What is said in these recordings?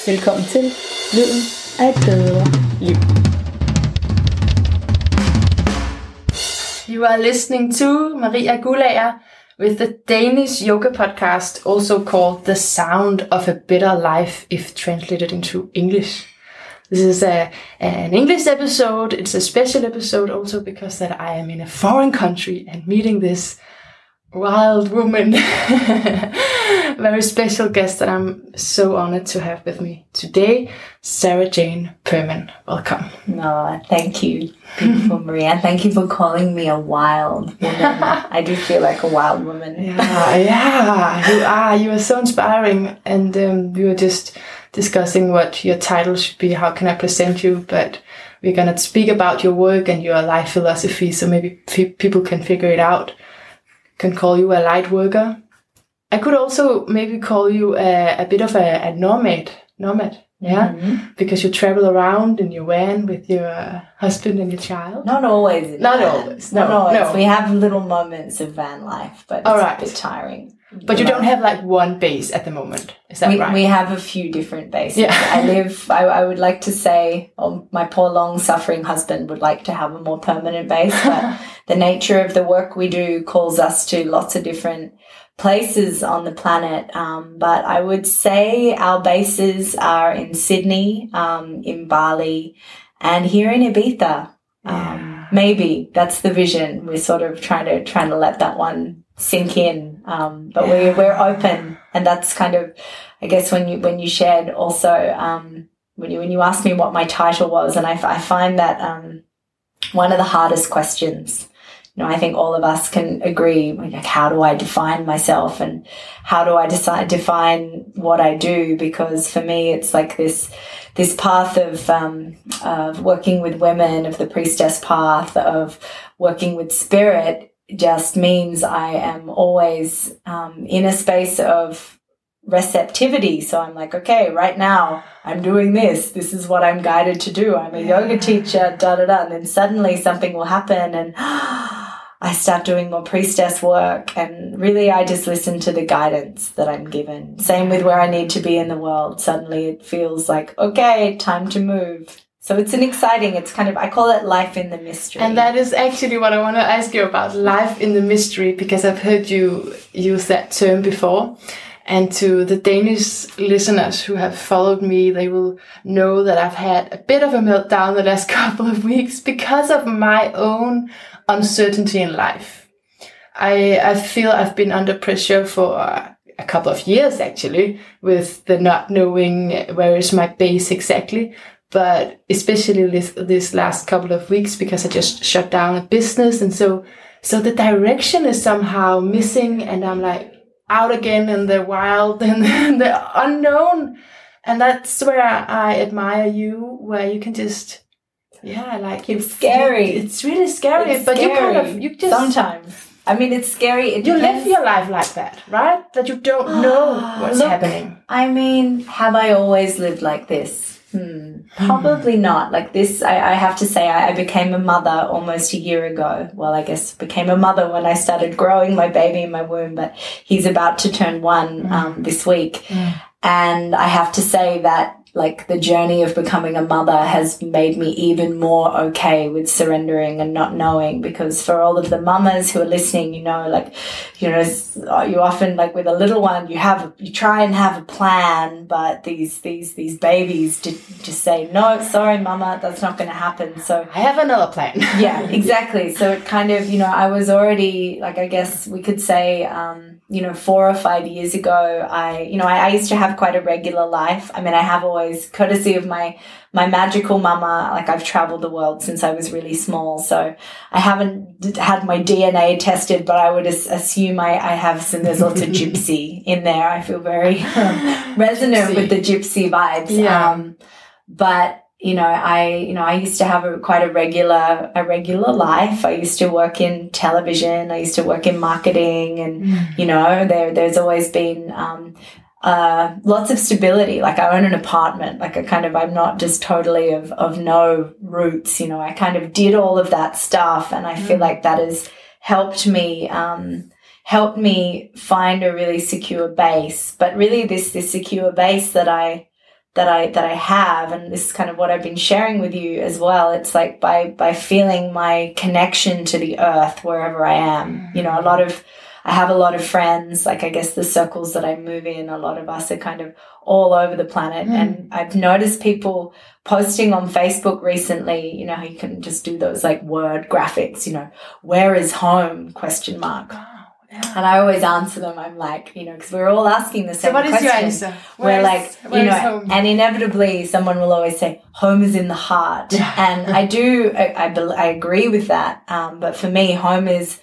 Velkommen til Lyden af et bedre liv. You are listening to Maria Guldager with the Danish yoga podcast, also called The Sound of a Better Life if translated into English. This is an English episode. It's a special episode also because that I am in a foreign country and meeting this wild woman, very special guest that I'm so honored to have with me today, Sarah Jane Perman. Welcome. No, thank you, beautiful Maria. Thank you for calling me a wild woman. I do feel like a wild woman. Yeah, you are so inspiring. And we were just discussing what your title should be. How can I present you? But we're going to speak about your work and your life philosophy, so maybe people can figure it out. Can call you a light worker. I could also maybe call you a bit of a nomad, yeah? Mm-hmm. Because you travel around in your van with your husband and your child. Not always. Not always. No. We have little moments of van life, but it's a bit tiring. But you don't have like one base at the moment, is that right? We have a few different bases. Yeah. I would like to say, my poor long-suffering husband would like to have a more permanent base, but the nature of the work we do calls us to lots of different places on the planet. But I would say our bases are in Sydney, in Bali, and here in Ibiza. Maybe that's the vision. We're sort of trying to let that one sink in. But we're open, and that's kind of, I guess, when you shared also, when you asked me what my title was, and I find that one of the hardest questions. I think all of us can agree, like, how do I define myself and how do I define what I do? Because for me, it's like this path of working with women, of the priestess path, of working with spirit, just means I am always in a space of receptivity. So I'm like, okay, right now I'm doing this. This is what I'm guided to do. I'm a yoga teacher, And then suddenly something will happen and I start doing more priestess work, and really I just listen to the guidance that I'm given. Same with where I need to be in the world. Suddenly it feels like, okay, time to move. So it's it's kind of, I call it life in the mystery. And that is actually what I want to ask you about, life in the mystery, because I've heard you use that term before. And to the Danish listeners who have followed me, they will know that I've had a bit of a meltdown the last couple of weeks because of my own uncertainty in life. I feel I've been under pressure for a couple of years, actually, with the not knowing where is my base exactly. But especially this last couple of weeks, because I just shut down a business. And so the direction is somehow missing, and I'm like out again in the wild and the unknown. And that's where I admire you, where you can just, it's scary. It's really scary. It's but scary. you just sometimes. I mean, it's scary. You live your life like that, right? That you don't know what's happening. I mean, have I always lived like this? Probably not. Like this, I have to say, I became a mother almost a year ago. Well, I guess became a mother when I started growing my baby in my womb, but he's about to turn 1 this week. And I have to say that, like, the journey of becoming a mother has made me even more okay with surrendering and not knowing, because for all of the mamas who are listening, you often, like with a little one, you try and have a plan, but these babies just say, no, sorry, mama, that's not going to happen. So I have another plan. Yeah, exactly. So it kind of, I was already, like, I guess we could say, 4 or 5 years ago, I used to have quite a regular life. I mean, I have always, courtesy of my magical mama, like, I've traveled the world since I was really small. So I haven't had my DNA tested, but I would assume I have there's lots of gypsy in there. I feel very resonant with the gypsy vibes. Yeah. But I used to have quite a regular life. I used to work in television. I used to work in marketing, and there's always been lots of stability. Like, I own an apartment. Like, I'm not just totally of no roots. I kind of did all of that stuff, and I feel like that has helped me find a really secure base. But really, this secure base that I I have, and this is kind of what I've been sharing with you as well. It's like by feeling my connection to the earth wherever I am. You know, I have a lot of friends, like I guess the circles that I move in, a lot of us are kind of all over the planet. And I've noticed people posting on Facebook recently, you know, how you can just do those like word graphics, you know, where is home? ? And I always answer them. I'm like, you know, because we're all asking the same question. So what is your answer? We're like, you know, and inevitably someone will always say, home is in the heart. And I agree with that. But for me, home is,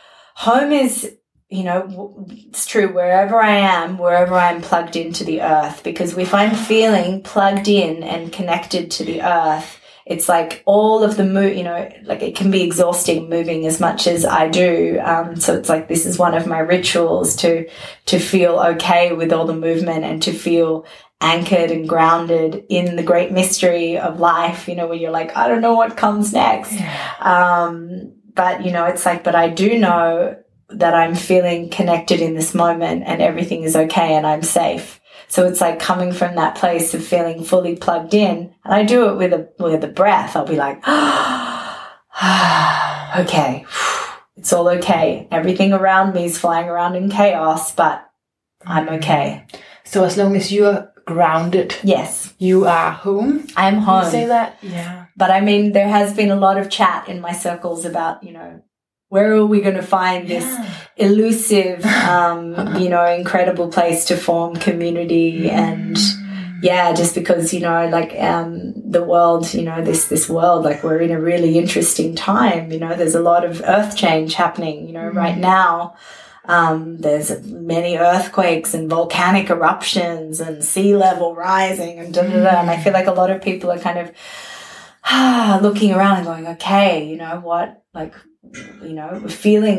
you know, it's true wherever I am, wherever I'm plugged into the earth, because if I'm feeling plugged in and connected to the earth, it's like all of the you know, like it can be exhausting moving as much as I do. So it's like, this is one of my rituals to feel okay with all the movement and to feel anchored and grounded in the great mystery of life, you know, where you're like, I don't know what comes next. But, you know, it's like, but I do know that I'm feeling connected in this moment and everything is okay and I'm safe. So it's like coming from that place of feeling fully plugged in. And I do it with a breath. I'll be like, okay, it's all okay. Everything around me is flying around in chaos, but I'm okay. So as long as you're grounded. Yes. You are home. I'm home. You say that? Yeah. But I mean, there has been a lot of chat in my circles about, you know, where are we going to find this elusive, you know, incredible place to form community? And just because, you know, like the world, you know, this world, like we're in a really interesting time. You know, there's a lot of earth change happening, you know, right now. There's many earthquakes and volcanic eruptions and sea level rising and and I feel like a lot of people are kind of looking around and going, okay, you know what, like, you know, feeling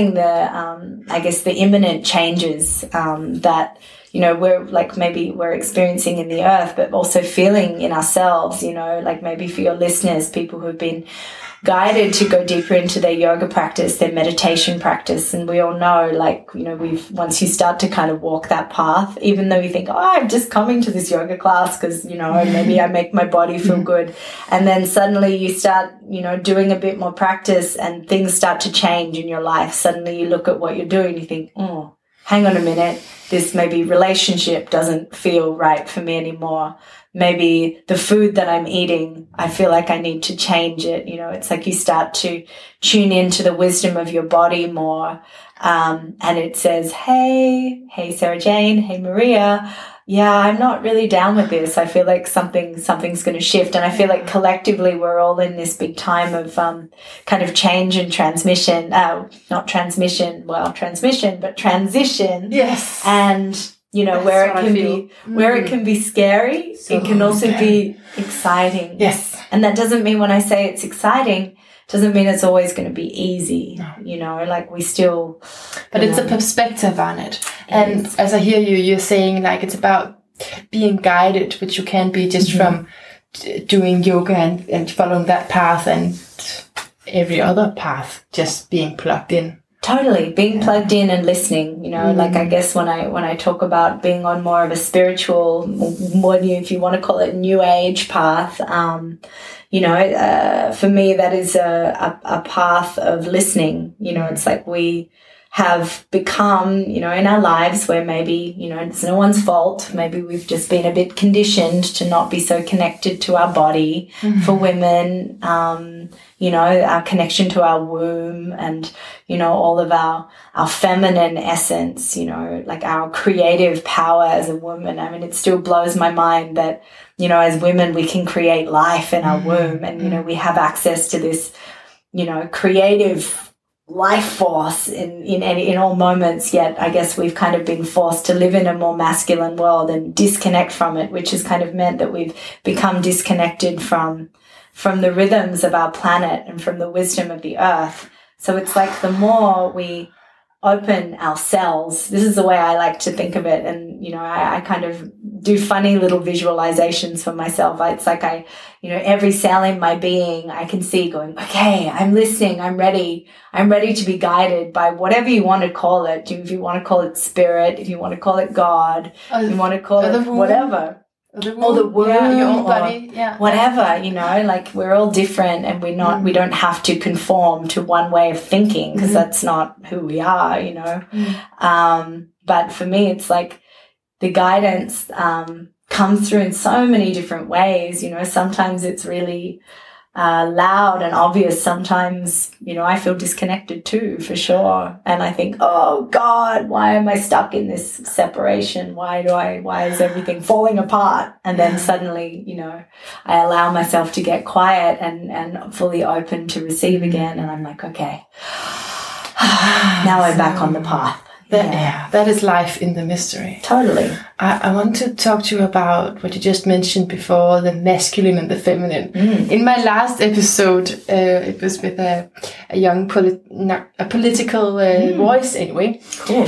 the, I guess the imminent changes, that, you know, we're experiencing in the earth, but also feeling in ourselves, you know, like maybe for your listeners, people who've been guided to go deeper into their yoga practice, their meditation practice. And we all know, like, you know, once you start to kind of walk that path, even though you think, oh, I'm just coming to this yoga class because, you know, maybe I make my body feel good. And then suddenly you start, you know, doing a bit more practice and things start to change in your life. Suddenly you look at what you're doing, you think, oh, hang on a minute, this maybe relationship doesn't feel right for me anymore. Maybe the food that I'm eating, I feel like I need to change it. You know, it's like you start to tune into the wisdom of your body more. And it says, hey, Sarah Jane, hey, Maria. Yeah, I'm not really down with this. I feel like something's going to shift. And I feel like collectively we're all in this big time of kind of change and transmission. Not transmission, transmission, but transition. Yes. And you know, where it can be scary, so it can also be exciting. Yes. And that doesn't mean when I say it's exciting, doesn't mean it's always going to be easy. No. You know, like we still... But it's a perspective on it. And as I hear you, you're saying like it's about being guided, which you can be just from doing yoga and following that path and every other path, just being plugged in. Totally. Being plugged in and listening, you know, like I guess when I talk about being on more of a spiritual, if you want to call it new age path, you know, for me, that is a path of listening. You know, it's like we have become, you know, in our lives where maybe, you know, it's no one's fault. Maybe we've just been a bit conditioned to not be so connected to our body. For women, you know, our connection to our womb and, you know, all of our feminine essence, you know, like our creative power as a woman. I mean, it still blows my mind that, you know, as women, we can create life in our womb and, you know, we have access to this, you know, creative life force in all moments. Yet I guess we've kind of been forced to live in a more masculine world and disconnect from it, which has kind of meant that we've become disconnected from the rhythms of our planet and from the wisdom of the earth. So it's like the more we open ourselves, this is the way I like to think of it. And, you know, I kind of do funny little visualizations for myself. It's like you know, every cell in my being, I can see going, okay, I'm listening. I'm ready to be guided by whatever you want to call it. If you want to call it spirit, if you want to call it God, if you want to call it whatever. the womb, or the womb, your own or body, whatever, you know, like we're all different, and we don't have to conform to one way of thinking, because that's not who we are, you know. But for me, it's like the guidance comes through in so many different ways, you know. Sometimes it's really loud and obvious. Sometimes, you know, I feel disconnected too, for sure. And I think, oh God, why am I stuck in this separation? Why is everything falling apart? And then suddenly, you know, I allow myself to get quiet and fully open to receive again. And I'm like, okay, now I'm back on the path. That is life in the mystery. Totally. I want to talk to you about what you just mentioned before, the masculine and the feminine. In my last episode, it was with a young political voice anyway. Cool.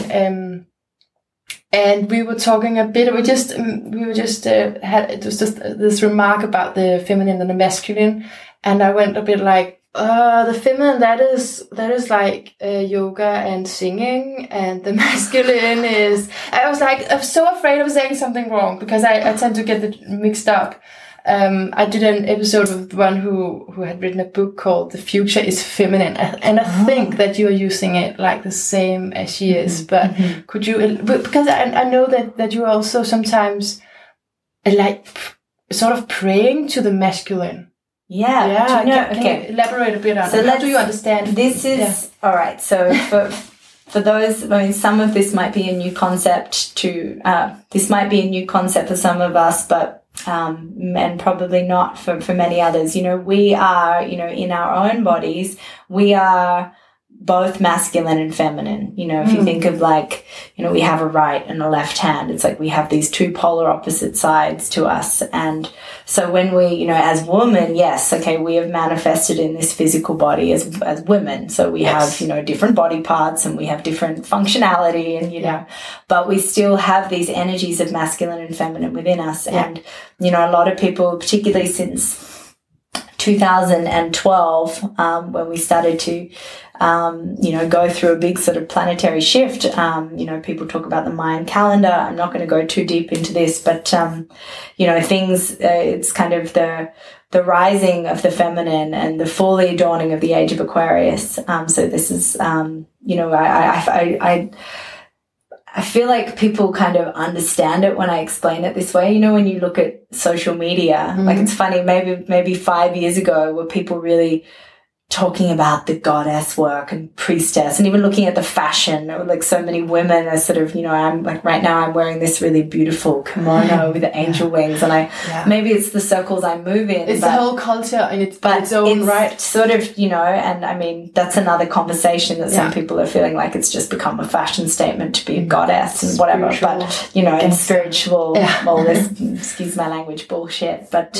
And we were talking a bit. We were just had it was just this remark about the feminine and the masculine, and I went a bit like, the feminine, that is like yoga and singing, and the masculine is, I was like, I'm so afraid of saying something wrong, because I tend to get it mixed up. I did an episode with one who had written a book called The Future is Feminine, and I think that you're using it like the same as she is, but could you, because I know that you also sometimes like sort of praying to the masculine. Yeah. Can you elaborate a bit on how do you understand this? Is all right. So for those, I mean, some of this might be a new concept this might be a new concept for some of us, but and probably not for many others. You know, we are, you know, in our own bodies, we are both masculine and feminine. You know, if you think of, like, you know, we have a right and a left hand. It's like we have these two polar opposite sides to us. And so when we, you know, as women, yes, okay, we have manifested in this physical body as women. So we have, you know, different body parts, and we have different functionality, and, you know, but we still have these energies of masculine and feminine within us. And, you know, a lot of people, particularly since 2012, when we started to, you know, go through a big sort of planetary shift. You know, people talk about the Mayan calendar. I'm not going to go too deep into this, but, you know, it's kind of the rising of the feminine and the fully dawning of the age of Aquarius. So this is, you know, I feel like people kind of understand it when I explain it this way. You know, when you look at social media, like, it's funny, maybe 5 years ago, were people really talking about the goddess work and priestess, and even looking at the fashion, like so many women are sort of, you know, I'm like, right now I'm wearing this really beautiful kimono with the angel wings, and maybe it's the circles I move in. It's the whole culture in its own right. Sort of, you know, and I mean, that's another conversation that some people are feeling like it's just become a fashion statement to be a goddess and whatever. But, you know, it's spiritual, all this, excuse my language, bullshit. But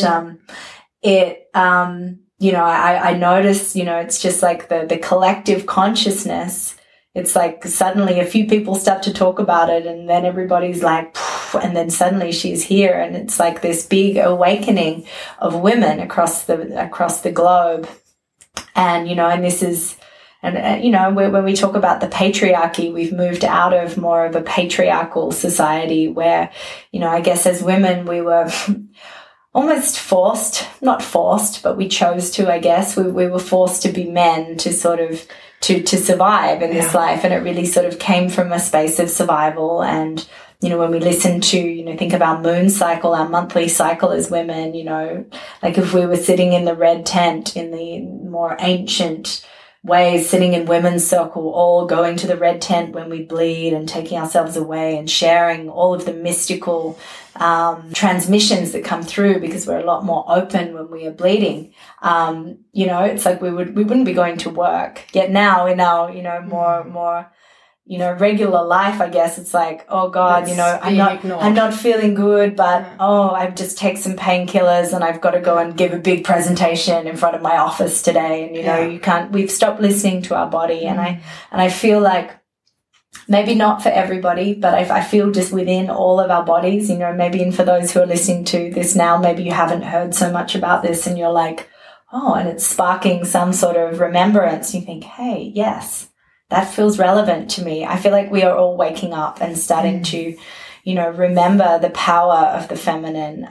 you know, I notice, you know, it's just like the collective consciousness. It's like suddenly a few people start to talk about it, and then everybody's like, and then suddenly she's here, and it's like this big awakening of women across the globe. And, you know, and this is, and you know, when we talk about the patriarchy, we've moved out of more of a patriarchal society where, you know, I guess as women we were almost not forced, but we chose to, I guess. We were forced to be men to sort of, to survive in this life. And it really sort of came from a space of survival. And, you know, when we listen to, you know, think of our moon cycle, our monthly cycle as women, you know, like if we were sitting in the red tent in the more ancient ways, sitting in women's circle, all going to the red tent when we bleed and taking ourselves away and sharing all of the mystical transmissions that come through, because we're a lot more open when we are bleeding. You know, it's like we wouldn't be going to work. Yet now in our, you know, more, you know, regular life, I guess it's like, oh God, you know, I'm not feeling good, but I just take some painkillers and I've got to go and give a big presentation in front of my office today. And, you know, we've stopped listening to our body. And I feel like, maybe not for everybody, but I feel just within all of our bodies, you know, maybe, and for those who are listening to this now, maybe you haven't heard so much about this and you're like, oh, and it's sparking some sort of remembrance. You think, hey, yes, that feels relevant to me. I feel like we are all waking up and starting to, remember the power of the feminine.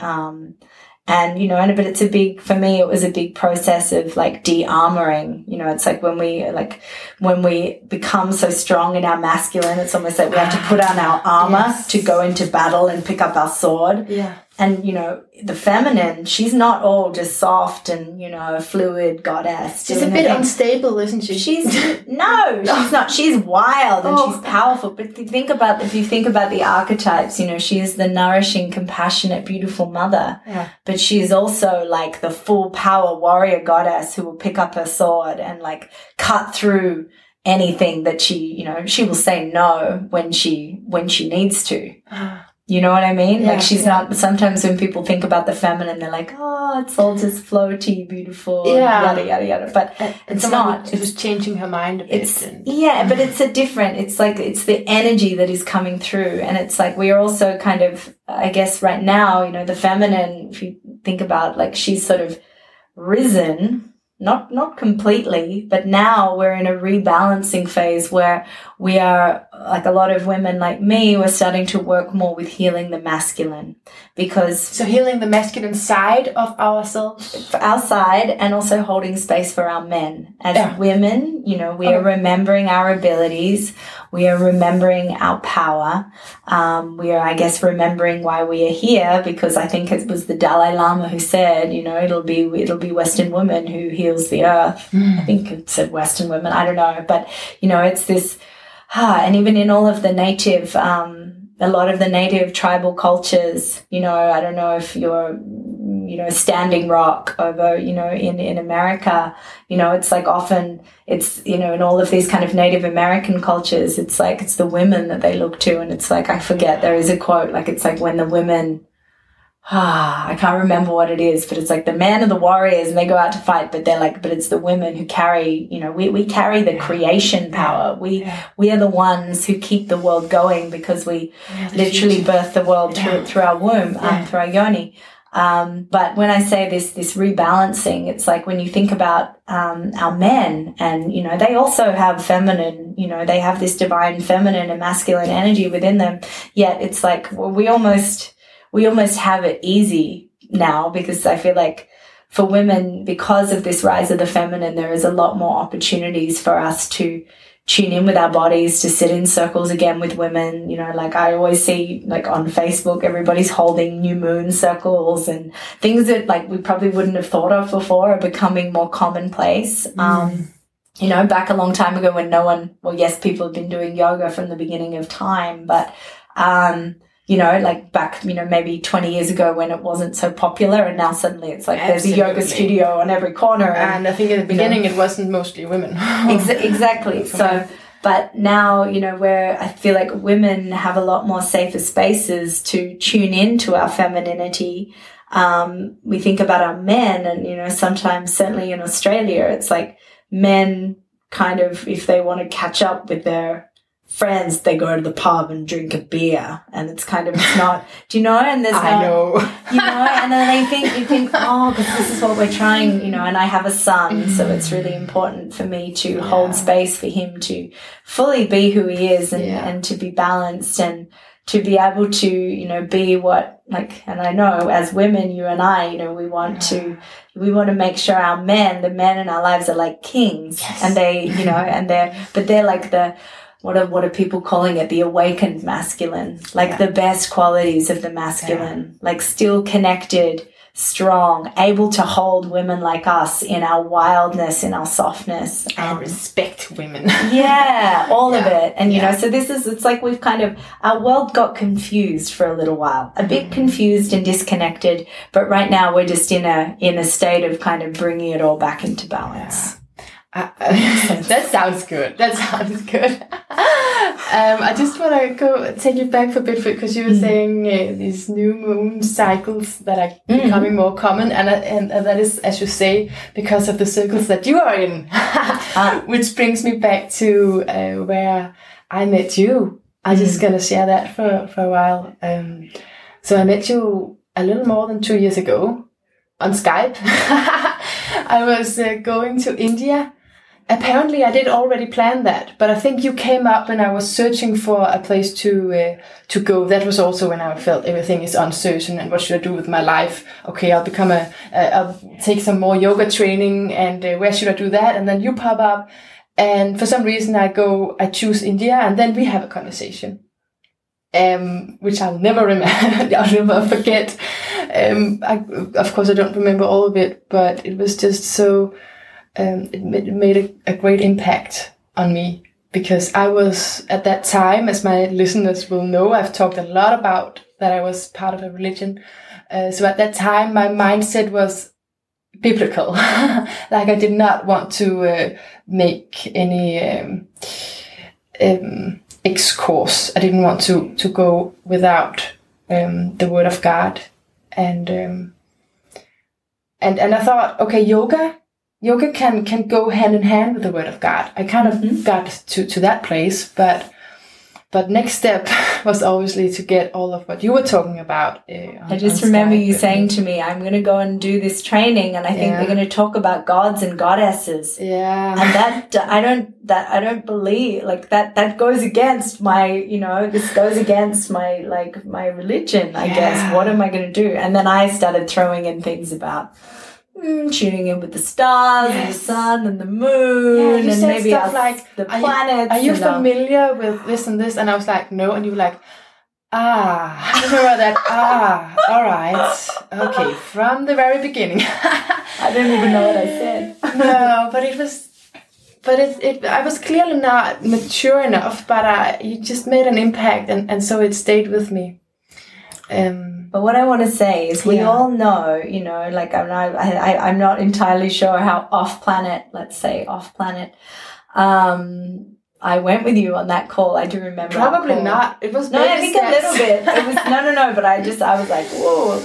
But it's for me, it was a big process of like de-armoring. It's like when we become so strong in our masculine, it's almost like we have to put on our armor to go into battle and pick up our sword. Yeah. And, the feminine, she's not all just soft and, a fluid goddess. She's a bit unstable, isn't she? She's not. She's wild and she's powerful. But if you think about the archetypes, she is the nourishing, compassionate, beautiful mother. Yeah. But she is also like the full power warrior goddess who will pick up her sword and like cut through anything that she will say no when she needs to. You know what I mean? Yeah, like she's not, sometimes when people think about the feminine, they're like, oh, it's all just floaty, beautiful, yada, yada, yada. But it's not. It was changing her mind a bit. But it's it's the energy that is coming through. And it's like, we are also kind of, I guess right now, the feminine, if you think about like, she's sort of risen, not completely, but now we're in a rebalancing phase where we are, like a lot of women like me, we're starting to work more with healing the masculine, because so healing the masculine side of ourselves, for our side, and also holding space for our men as women. We are remembering our abilities, we are remembering our power, we are, I guess, remembering why we are here, because I think it was the Dalai Lama who said, it'll be Western women who heals the earth. I think it said Western women, I don't know, but it's this. And even in all of the native, a lot of the native tribal cultures, I don't know if you're, Standing Rock over, in America, it's like often it's, in all of these kind of Native American cultures, it's like, it's the women that they look to. And it's like, I forget, there is a quote, like, it's like when the women, I can't remember what it is, but it's like the men are the warriors and they go out to fight, but they're like, but it's the women who carry, we carry the creation power. We are the ones who keep the world going, because we literally birth the world through our womb, through our yoni. But when I say this rebalancing, it's like when you think about, our men and, they also have feminine, they have this divine feminine and masculine energy within them. Yet it's like, we almost have it easy now, because I feel like for women, because of this rise of the feminine, there is a lot more opportunities for us to tune in with our bodies, to sit in circles again with women. Like I always see, like on Facebook, everybody's holding new moon circles and things that like we probably wouldn't have thought of before are becoming more commonplace. Back a long time ago when people have been doing yoga from the beginning of time, but, like back, maybe 20 years ago when it wasn't so popular, and now suddenly it's like there's a yoga studio on every corner. And I think in the beginning it wasn't mostly women. Exactly. So, but now, where I feel like women have a lot more safer spaces to tune into our femininity. We think about our men and, sometimes, certainly in Australia, it's like men kind of, if they want to catch up with their friends, they go to the pub and drink a beer, and it's kind of, it's not, and there's I know. And then you think, oh, because this is what we're trying, and I have a son, so it's really important for me to hold space for him to fully be who he is and to be balanced and to be able to, be what, like, and I know as women, you and I, we want to make sure the men in our lives are like kings, and they, they're like what are people calling it? The awakened masculine, like the best qualities of the masculine, like still connected, strong, able to hold women like us in our wildness, in our softness. I respect women. All of it. And, so it's like we've kind of, our world got confused for a little while, a bit confused and disconnected. But right now we're just in a state of kind of bringing it all back into balance. That sounds good. I just want to take you back for a bit, because you were saying these new moon cycles that are becoming more common, and that is, as you say, because of the circles that you are in, which brings me back to where I met you. I'm just gonna share that for a while. So I met you a little more than 2 years ago on Skype. I was going to India apparently I did already plan that, but I think you came up and I was searching for a place to go. That was also when I felt everything is uncertain and what should I do with my life? Okay, I'll take some more yoga training and where should I do that? And then you pop up and for some reason I choose India and then we have a conversation. Which I'll never remember, I'll never forget. Of course I don't remember all of it, but it was just so, it made a great impact on me because I was at that time, as my listeners will know, I've talked a lot about that I was part of a religion. So at that time, my mindset was biblical. Like I did not want to make any X-course. I didn't want to go without the word of God. And I thought, okay, yoga can go hand in hand with the word of God. I kind of got to that place, but next step was obviously to get all of what you were talking about. I just remember you saying to me, I'm going to go and do this training and I think they're going to talk about gods and goddesses. Yeah. And I don't believe, like that goes against my, this goes against my religion, I guess. What am I going to do? And then I started throwing in things about tuning in with the stars and the sun and the moon and maybe stuff like the planets. Are you familiar with this and this? And I was like, no. And you were like, I remember that. All right. Okay. From the very beginning. I don't even know what I said. No, but I was clearly not mature enough, but you just made an impact and so it stayed with me. But what I want to say is we all know, like I'm not entirely sure how off-planet, I went with you on that call. I do remember. Probably not. It was I think a little bit. It was no, but I was like, whoa.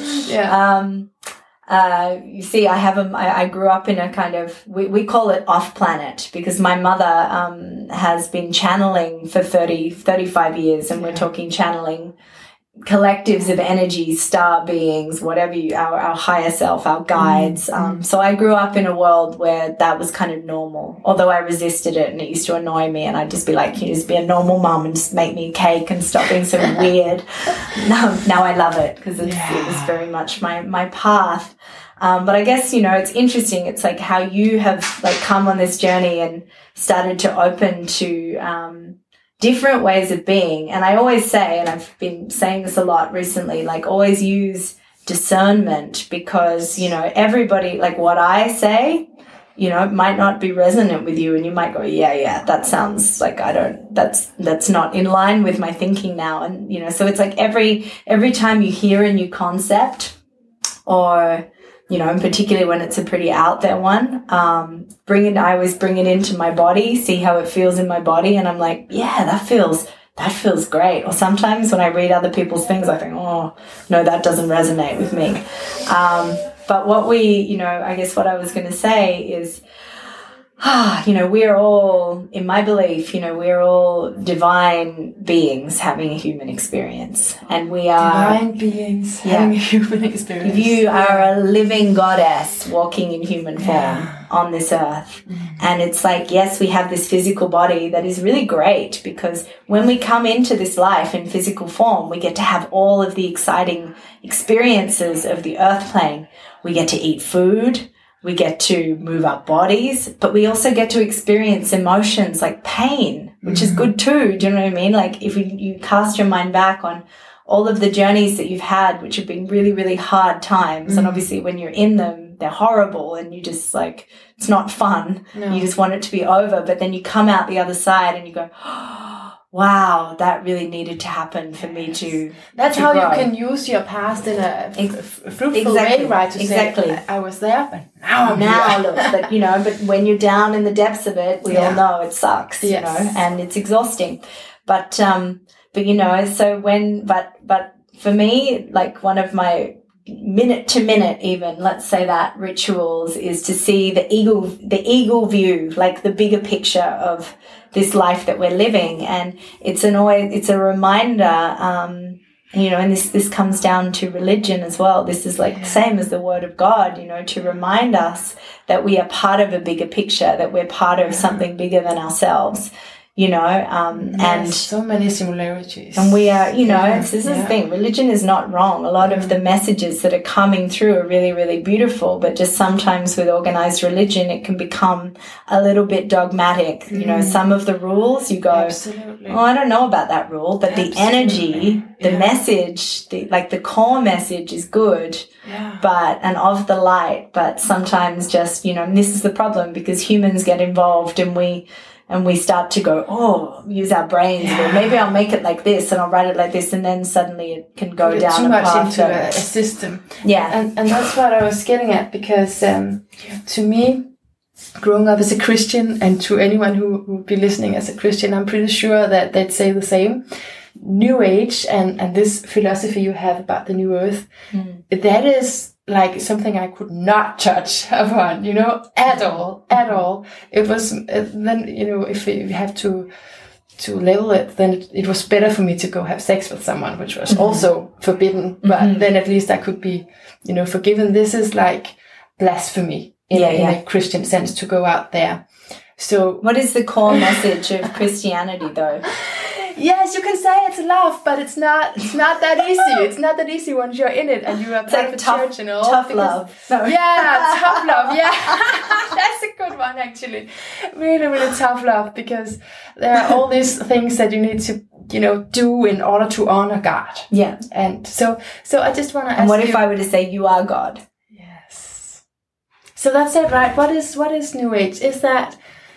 Yeah. You see, I grew up in a kind of, we call it off-planet because my mother has been channeling for 35 years and we're talking channeling collectives of energy, star beings, whatever our higher self, our guides. So I grew up in a world where that was kind of normal, although I resisted it and it used to annoy me and I'd just be like, can you just be a normal mum and just make me a cake and stop being so weird? Now I love it because it was very much my path. But I guess, it's interesting. It's like how you have come on this journey and started to open to, different ways of being. And I always say, and I've been saying this a lot recently, always use discernment because, everybody, what I say, might not be resonant with you and you might go, yeah, that sounds like that's not in line with my thinking now. And, so it's like every time you hear a new concept or, and particularly when it's a pretty out there one, I always bring it into my body, see how it feels in my body. And I'm like, yeah, that feels great. Or sometimes when I read other people's things, I think, oh, no, that doesn't resonate with me. But what I guess what I was going to say is, we're all, in my belief, we're all divine beings having a human experience. And we are divine beings having a human experience. You are a living goddess walking in human form on this earth. And it's like, yes, we have this physical body that is really great because when we come into this life in physical form, we get to have all of the exciting experiences of the earth plane. We get to eat food. We get to move our bodies, but we also get to experience emotions like pain, which is good too. Do you know what I mean? Like if you cast your mind back on all of the journeys that you've had, which have been really, really hard times. And obviously when you're in them, they're horrible and you just it's not fun. No. You just want it to be over. But then you come out the other side and you go, wow, that really needed to happen for me to That's how grow. You can use your past in a fruitful way, right? To say, I was there, but now I'm here. Look, but when you're down in the depths of it, we all know it sucks, and it's exhausting. But so but for me, one of my minute to minute, even let's say that rituals is to see the eagle view, the bigger picture of this life that we're living. And it's a reminder you know, and this comes down to religion as well. This is like the same as the word of God, you know, to remind us that we are part of a bigger picture, that we're part of something bigger than ourselves, you know, and so many similarities. And we are, you know, this is the thing. Religion is not wrong. A lot of the messages that are coming through are really, really beautiful, but just sometimes with organized religion, it can become a little bit dogmatic. You know, some of the rules you go, Absolutely. oh, I don't know about that rule, but the energy, the message, the core message is good, but, and of the light, but sometimes just, you know, and this is the problem because humans get involved and we start to go, use our brains. Or maybe I'll make it like this and I'll write it like this. And then suddenly it can go down too a much path into a system. Yeah. And that's what I was getting at because to me, growing up as a Christian and to anyone who would be listening as a Christian, I'm pretty sure that they'd say the same. New Age and this philosophy you have about the new earth, that is like something I could not touch upon, you know, at all. It was, then, you know, if you have to label it, then it was better for me to go have sex with someone, which was also forbidden, but then at least I could be, you know, forgiven. This is like blasphemy in a Christian sense to go out there. So what is the core message of Christianity though? Yes, you can say it's love, but it's not that easy. It's not that easy once you're in it and you are part of a church and all. Tough love. No. Yeah, tough love. Yeah, that's a good one actually. Really, really tough love because there are all these things that you need to, you know, do in order to honor God. Yeah. And so I just want to ask you. And what if I were to say you are God? Yes. So that's it, right? What is New Age? Is that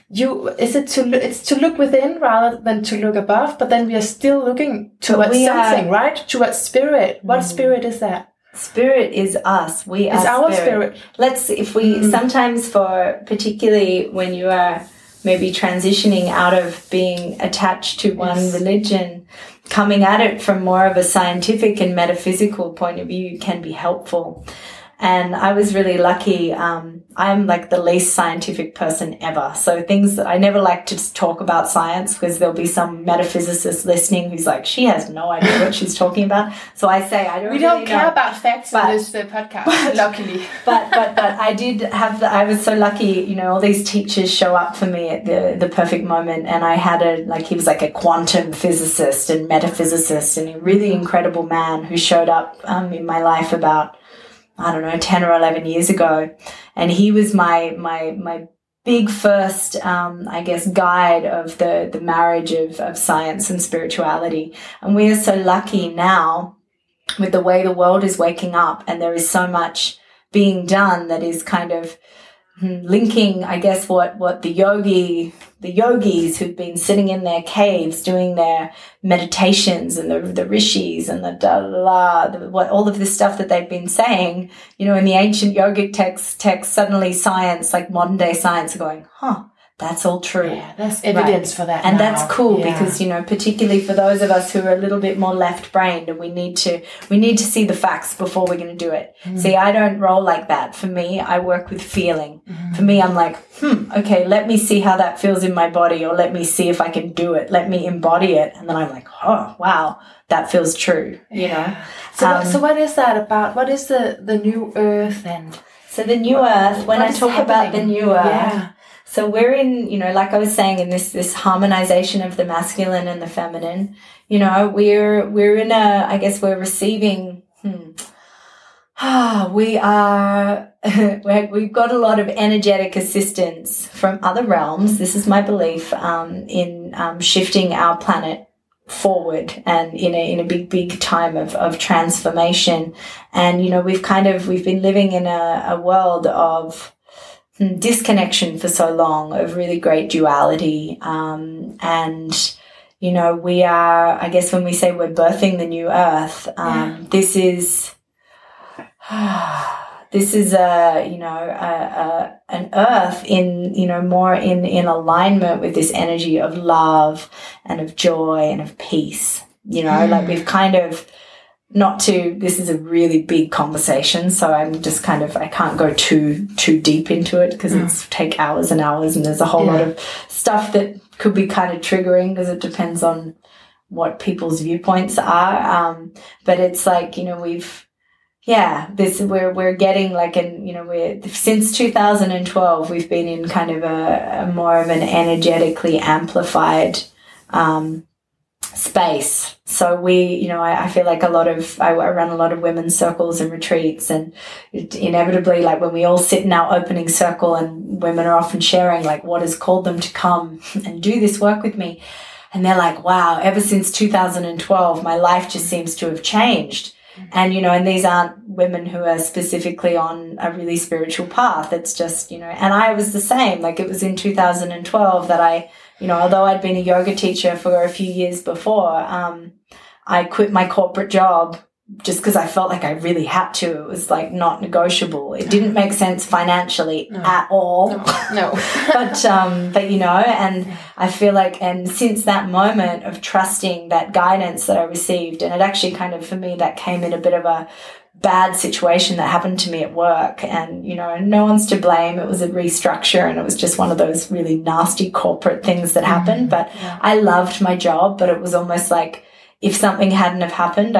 it's to look within rather than to look above, but then we are still looking towards something, right? Towards spirit. What spirit is that? Spirit is us. We are our spirit. Sometimes particularly when you are maybe transitioning out of being attached to one religion, coming at it from more of a scientific and metaphysical point of view can be helpful. And I was really lucky. I'm like the least scientific person ever. So things that I never like to talk about science because there'll be some metaphysicist listening who's like, she has no idea what she's talking about. So I say, we don't care about facts on this podcast, luckily. But I was so lucky, you know, all these teachers show up for me at the perfect moment. And I had he was like a quantum physicist and metaphysicist and a really incredible man who showed up in my life about, I don't know, 10 or 11 years ago. And he was my big first, guide of the marriage of science and spirituality. And we are so lucky now with the way the world is waking up and there is so much being done that is kind of linking, I guess, what the yogis who've been sitting in their caves doing their meditations and the rishis and all of this stuff that they've been saying, you know, in the ancient yogic texts, suddenly science, like modern day science, are going, that's all true. Yeah, there's evidence for that. And now. That's cool because, you know, particularly for those of us who are a little bit more left-brained and we need to see the facts before we're going to do it. See, I don't roll like that. For me, I work with feeling. For me, I'm like, okay, let me see how that feels in my body, or let me see if I can do it. Let me embody it. And then I'm like, oh, wow, that feels true, you know? So what is that about? What is the new earth then? So the new earth, when I talk about the new earth, so we're in, you know, like I was saying, in this harmonization of the masculine and the feminine, you know, we're in we're receiving, we've got a lot of energetic assistance from other realms. This is my belief, in shifting our planet forward and in a big time of transformation. And, you know, we've been living in a world of disconnection for so long, of really great duality. And, you know, we are, I guess when we say we're birthing the new earth, this is an earth in, you know, more in alignment with this energy of love and of joy and of peace. You know, like we've kind of, this is a really big conversation, so I'm just I can't go too deep into it because it's take hours and hours, and there's a whole lot of stuff that could be kind of triggering because it depends on what people's viewpoints are. But it's like, you know, we're getting like since 2012, we've been in kind of a more of an energetically amplified space. So I feel like I run a lot of women's circles and retreats, and inevitably, like when we all sit in our opening circle and women are often sharing like what has called them to come and do this work with me. And they're like, wow, ever since 2012, my life just seems to have changed. And, and these aren't women who are specifically on a really spiritual path. It's just, and I was the same. Like it was in 2012 that I, although I'd been a yoga teacher for a few years before, I quit my corporate job just because I felt like I really had to. It was like not negotiable. It didn't make sense financially at all. No. but and I feel like, and since that moment of trusting that guidance that I received, and it actually kind of, for me, that came in a bit of a bad situation that happened to me at work, and, no one's to blame. It was a restructure, and it was just one of those really nasty corporate things that happened. But I loved my job, but it was almost like, if something hadn't have happened,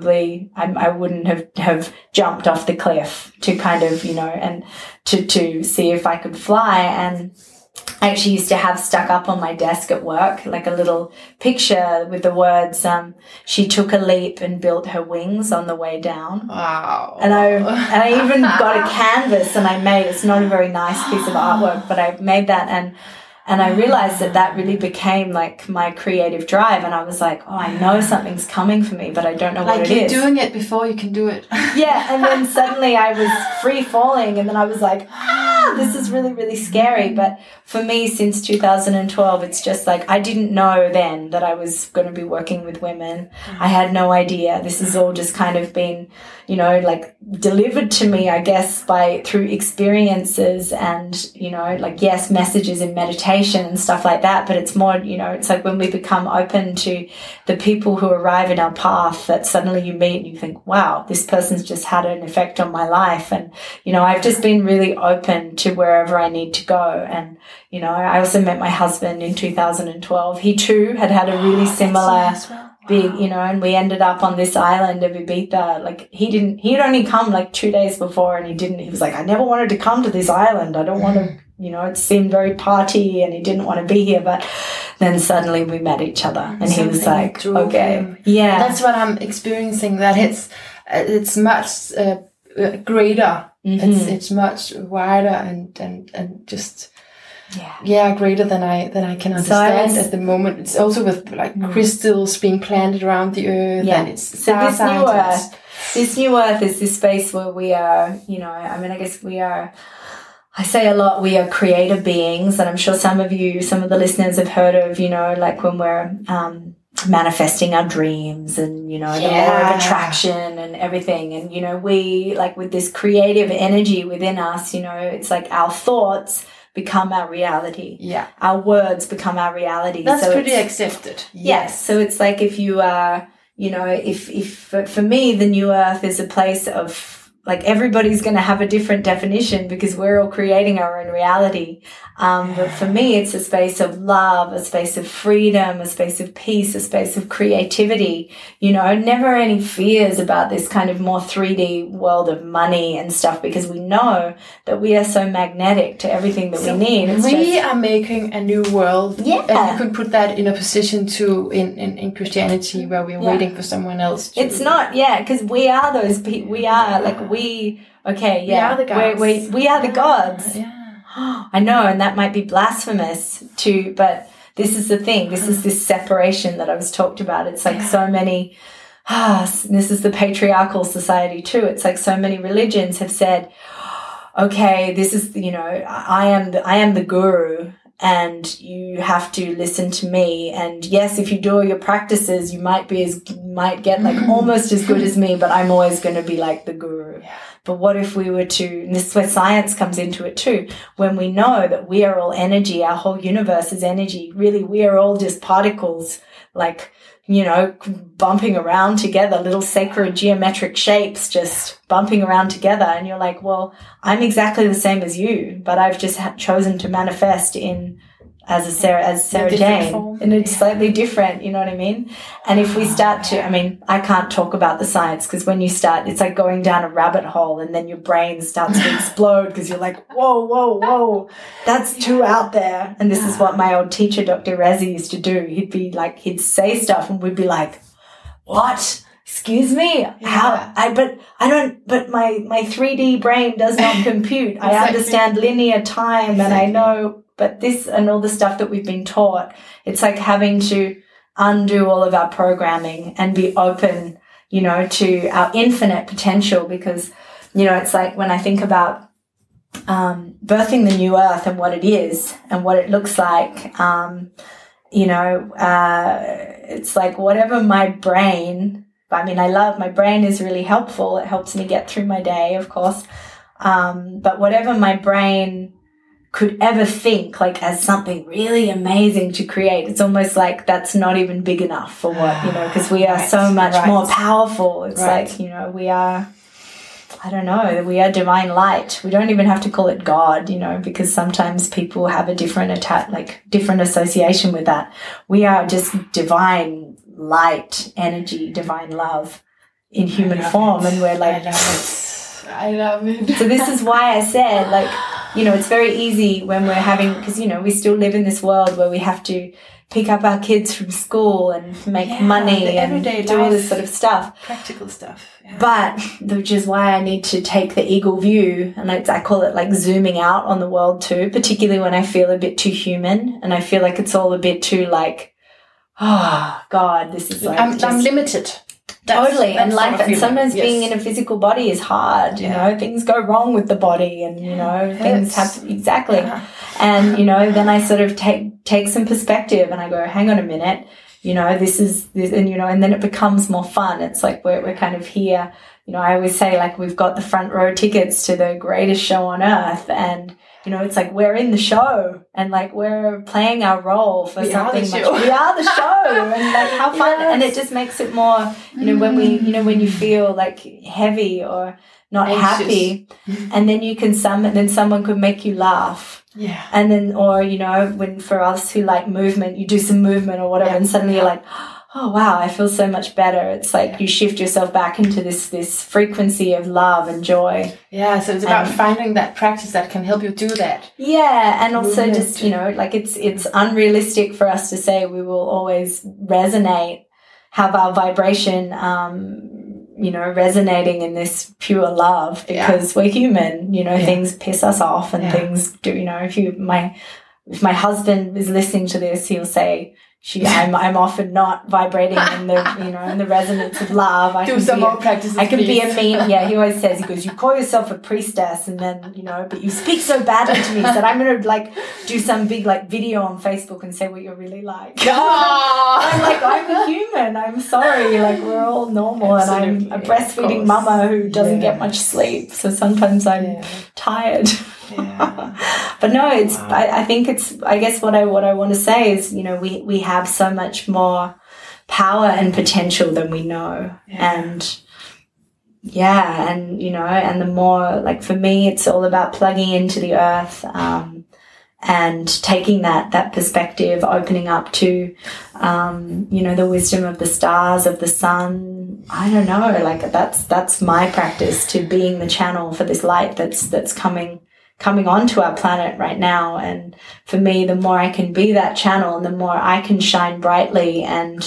I wouldn't have jumped off the cliff to kind of, and to see if I could fly. And I actually used to have stuck up on my desk at work, like a little picture with the words, she took a leap and built her wings on the way down. Wow. And I even got a canvas, and it's not a very nice piece of artwork, but I made that, and I realized that really became like my creative drive. And I was like, oh, I know something's coming for me, but I don't know what it is. Like you're doing it before you can do it. Yeah. And then suddenly I was free falling, and then I was like, this is really, really scary. But for me, since 2012, it's just like, I didn't know then that I was going to be working with women. I had no idea. This has all just kind of been, like delivered to me, I guess, through experiences and, yes, messages in meditation and stuff like that. But it's more, it's like when we become open to the people who arrive in our path, that suddenly you meet and you think, wow, this person's just had an effect on my life. And, I've just been really open to wherever I need to go. And, I also met my husband in 2012. He too had a really similar big, and we ended up on this island of Ibiza. Like he'd only come like 2 days before, and he was like, I never wanted to come to this island. I don't want to, it seemed very party, and he didn't want to be here. But then suddenly we met each other, and he was like, okay. Yeah. That's what I'm experiencing, that it's much greater. Mm-hmm. It's much wider and just greater than I can understand at the moment. It's also with like crystals being planted around the earth, and it's so this new earth is this space where we are, I guess we are, I say a lot, we are creator beings, and I'm sure some of the listeners have heard of, like when we're manifesting our dreams and, the law of attraction and everything. And, we, like with this creative energy within us, it's like our thoughts become our reality. Yeah. Our words become our reality. That's so pretty accepted. Yes. So it's like if you are, if for me, the new earth is a place of, like, everybody's going to have a different definition because we're all creating our own reality. But for me, it's a space of love, a space of freedom, a space of peace, a space of creativity, never any fears about this kind of more 3D world of money and stuff, because we know that we are so magnetic to everything that we need. We are making a new world. Yeah. And you could put that in a position too in Christianity, where we're waiting for someone else to. It's not, because we are those people. We are like, we are the gods. We are the gods. Yeah. I know, and that might be blasphemous too, but this is the thing. This is this separation that I was talked about. It's like so many, this is the patriarchal society too. It's like so many religions have said, okay, this is, I am the guru, and you have to listen to me. And yes, if you do all your practices, you might get like almost as good as me, but I'm always going to be like the guru. Yeah. But what if we were to, and this is where science comes into it too, when we know that we are all energy, our whole universe is energy. Really, we are all just particles, like, bumping around together, little sacred geometric shapes just bumping around together. And you're like, well, I'm exactly the same as you, but I've just chosen to manifest in as Sarah Jane form. in a slightly different, you know what I mean? And if we start to, I mean, I can't talk about the science because when you start, it's like going down a rabbit hole and then your brain starts to explode because you're like, whoa, that's too out there. And this is what my old teacher, Dr. Razi, used to do. He'd be like, he'd say stuff and we'd be like, what? Excuse me? How? But my 3D brain does not compute. Exactly. I understand linear time and I know, but this and all the stuff that we've been taught, it's like having to undo all of our programming and be open, you know, to our infinite potential because, you know, it's like when I think about birthing the new earth and what it is and what it looks like, you know, it's like whatever my brain, I mean, my brain is really helpful. It helps me get through my day, of course. But whatever my brain could ever think like as something really amazing to create, it's almost like that's not even big enough for what, you know, because we are so much more powerful. It's like, you know, we are, I don't know, we are divine light. We don't even have to call it God, you know, because sometimes people have a different different association with that. We are just divine light, energy, divine love in human form. And we're like, I love it. So this is why I said, like, you know, it's very easy when we're having, because, you know, we still live in this world where we have to pick up our kids from school and make money and do all this sort of stuff. Practical stuff. Yeah. But, which is why I need to take the eagle view, and I call it like zooming out on the world too, particularly when I feel a bit too human and I feel like it's all a bit too like, oh, God, this is like I'm limited. Totally. And life, and sometimes being in a physical body is hard, you know, things go wrong with the body and, you know, things happen. Exactly. Yeah. And, you know, then I sort of take some perspective and I go, hang on a minute, you know, this, and, you know, and then it becomes more fun. It's like we're kind of here, you know, I always say like we've got the front row tickets to the greatest show on earth, and, you know, it's like we're in the show and like we're playing our role for something much. We are the show, and like how fun. Yes. And it just makes it more, you know, when when you feel like heavy or not happy, and then you can then someone could make you laugh. Yeah. And then, or, you know, when for us who like movement, you do some movement or whatever, and suddenly you're like, oh, wow, I feel so much better. It's like you shift yourself back into this frequency of love and joy. Yeah, so it's about finding that practice that can help you do that. Yeah, and also just, you know, like it's unrealistic for us to say we will always resonate, have our vibration, you know, resonating in this pure love, because we're human, you know, things piss us off and things do, you know, if my husband is listening to this, he'll say, I'm often not vibrating in the, you know, in the resonance of love. I do some more practices. I can be a mean. Yeah, he always says, he goes, you call yourself a priestess, and then, you know, but you speak so badly to me that I'm going to like do some big like video on Facebook and say what you're really like. I'm like, I'm a human. I'm sorry. Like we're all normal. Absolutely. And I'm a breastfeeding mama who doesn't get much sleep. So sometimes I'm tired. Yeah. But no, it's, I think it's, I guess what I want to say is, you know, we have so much more power and potential than we know. And and, you know, and the more, like for me, it's all about plugging into the earth, and taking that perspective, opening up to, you know, the wisdom of the stars, of the sun. I don't know, like that's my practice, to being the channel for this light that's coming onto our planet right now. And for me, the more I can be that channel and the more I can shine brightly, and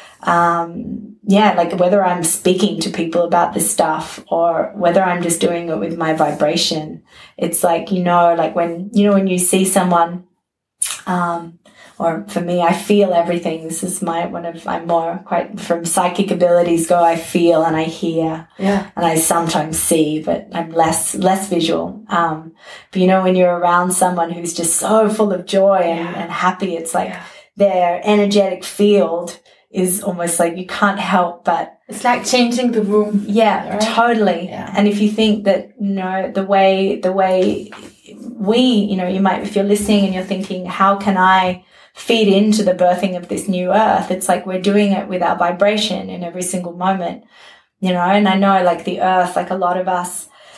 like whether I'm speaking to people about this stuff or whether I'm just doing it with my vibration, it's like, you know, like when you see someone, or for me, I feel everything. This is I'm more quite from psychic abilities go. I feel and I hear, and I sometimes see, but I'm less visual. But you know, when you're around someone who's just so full of joy and happy, it's like their energetic field is almost like you can't help but. It's like changing the room. Yeah, right? Totally. Yeah. And if you think that, you know, the way we, you know, you might, if you're listening and you're thinking, how can I feed into the birthing of this new earth? It's like we're doing it with our vibration in every single moment, you know. And I know, like the earth, like a lot of us,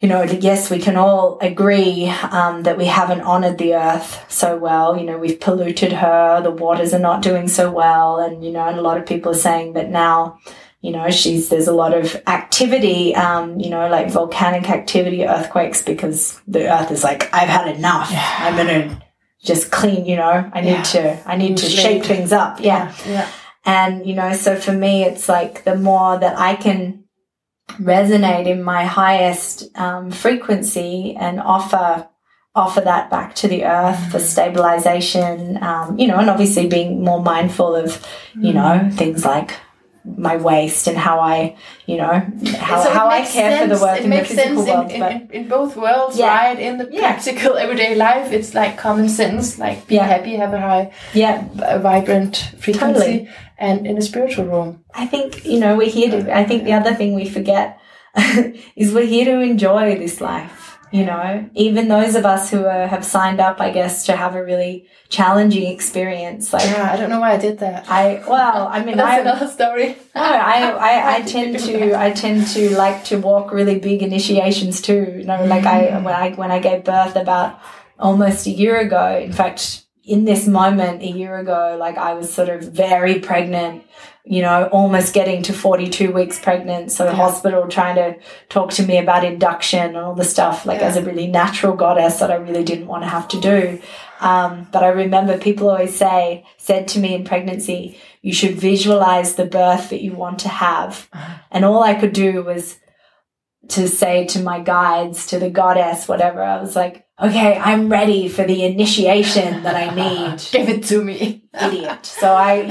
yes, we can all agree that we haven't honored the earth so well. We've polluted her. The waters are not doing so well. And, and a lot of people are saying that now, there's a lot of activity, like volcanic activity, earthquakes, because the earth is like, I've had enough. Yeah. I'm going to just clean, I need to shake things up. Yeah. And, so for me, it's like the more that I can resonate in my highest frequency and offer that back to the earth for stabilization, and obviously being more mindful of, things like my waste and how I, how I care for the work in the physical world. In both worlds, right? In the practical everyday life, it's like common sense, like be happy, have a high, vibrant frequency. Totally. And in a spiritual realm, I think, we're here to, I think the other thing we forget is we're here to enjoy this life. Even those of us who have signed up, I guess, to have a really challenging experience. I don't know why I did that. That's another story. No, I tend to like to walk really big initiations too. When I gave birth about almost a year ago. In fact, in this moment a year ago, I was sort of very pregnant. Almost getting to 42 weeks pregnant. So hospital trying to talk to me about induction and all the stuff, as a really natural goddess that I really didn't want to have to do. But I remember people always said to me in pregnancy, you should visualize the birth that you want to have. And all I could do was to say to my guides, to the goddess, whatever, I was like, okay, I'm ready for the initiation that I need. Give it to me. Idiot. So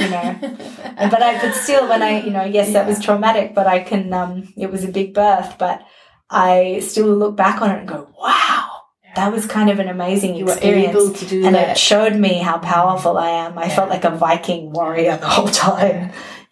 but still when that was traumatic, but I can, it was a big birth, but I still look back on it and go, wow, that was kind of an amazing experience. You were able to do and that. It showed me how powerful I am. I felt like a Viking warrior the whole time,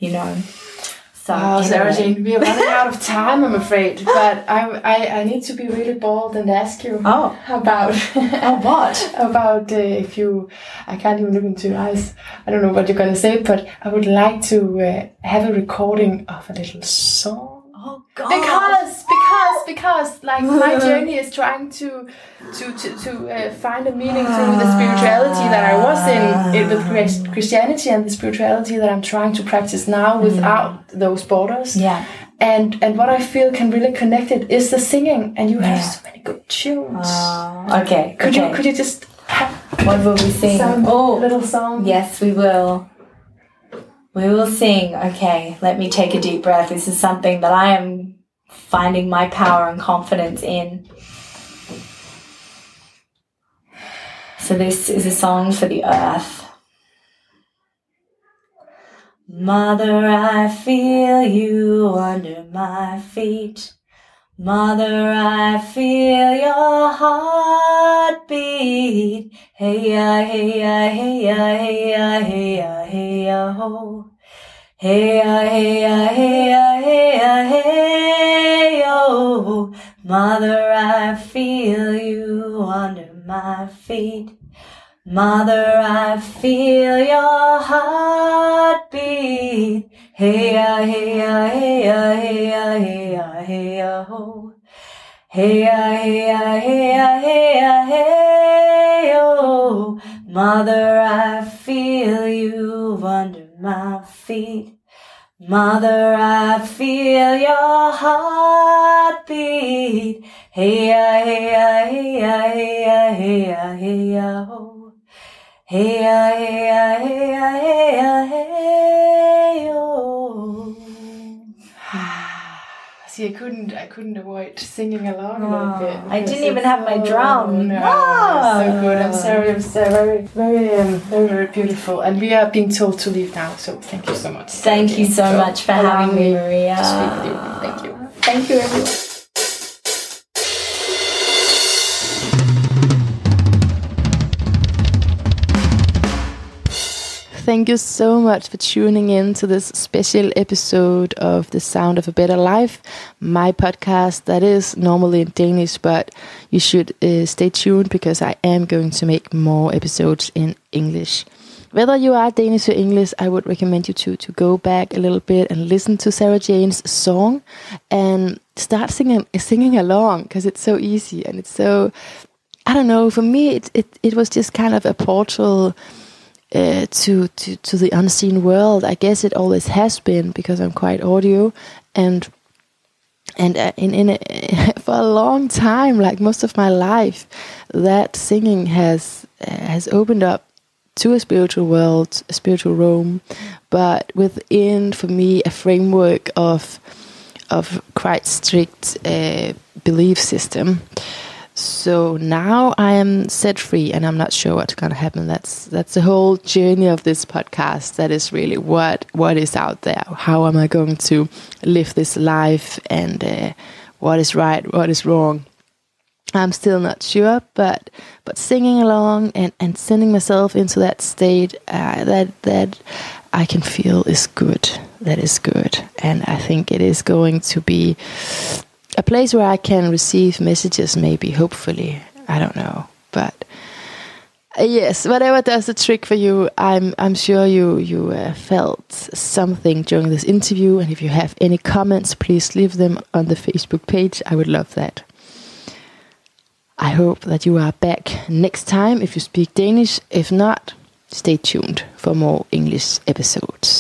So, Sarah Jane, we are running out of time, I'm afraid. But I need to be really bold and ask you about what? About if you, I can't even look into your eyes. I don't know what you're going to say, but I would like to have a recording of a little song. Oh God! Because my journey is trying to find a meaning through the spirituality that I was in with Christianity and the spirituality that I'm trying to practice now without those borders. Yeah. And what I feel can really connect it is the singing, and you have so many good tunes. Okay. Could you just what will we sing? Little song. Yes, we will. We will sing. Okay, let me take a deep breath. This is something that I am finding my power and confidence in. So this is a song for the earth. Mother, I feel you under my feet. Mother, I feel your heartbeat. Hey ya, hey ya, hey ya, hey ya, hey ya, hey ya, ho. Hey ya, hey ya, hey ya, hey ya, hey yo. Mother, I feel you under my feet. Mother, I feel your heartbeat. Hey ya, hey ya, hey ya, hey ya, hey ya, hey ya, ho. Hey ya, hey ya, hey ya, hey ya, hey yo. Mother, I feel you under my feet. Mother, I feel your heartbeat. Hey ya, hey ya, hey ya, hey ya, hey ya, hey ya, ho. Hey ya, hey ya, hey ya, hey ya, hey yo. See, I couldn't avoid singing along a little bit. I didn't even have my drum. No, so good. I'm sorry. It was very, very, very beautiful. And we are being told to leave now. So thank you so much. Thank you so much for having me, Maria. To speak with you. Thank you. Thank you, everyone. Thank you so much for tuning in to this special episode of The Sound of a Better Life, my podcast that is normally in Danish, but you should stay tuned because I am going to make more episodes in English. whether you are Danish or English, I would recommend you to go back a little bit and listen to Sarah Jane's song and start singing along, because it's so easy and it's so, I don't know, for me it was just kind of a portal to the unseen world. I guess it always has been, because I'm quite audio, and for a long time, like most of my life, that singing has opened up to a spiritual world, a spiritual realm, but within, for me, a framework of quite strict belief system. So now I am set free, and I'm not sure what's gonna happen. That's the whole journey of this podcast. That is really what is out there. How am I going to live this life, and what is right, what is wrong? I'm still not sure, but singing along and sending myself into that state that I can feel is good. That is good, and I think it is going to be a place where I can receive messages, maybe, hopefully. I don't know, but yes, whatever does the trick for you. I'm sure you felt something during this interview, and if you have any comments, please leave them on the Facebook page. I would love that. I hope that you are back next time if you speak Danish. If not, stay tuned for more English episodes.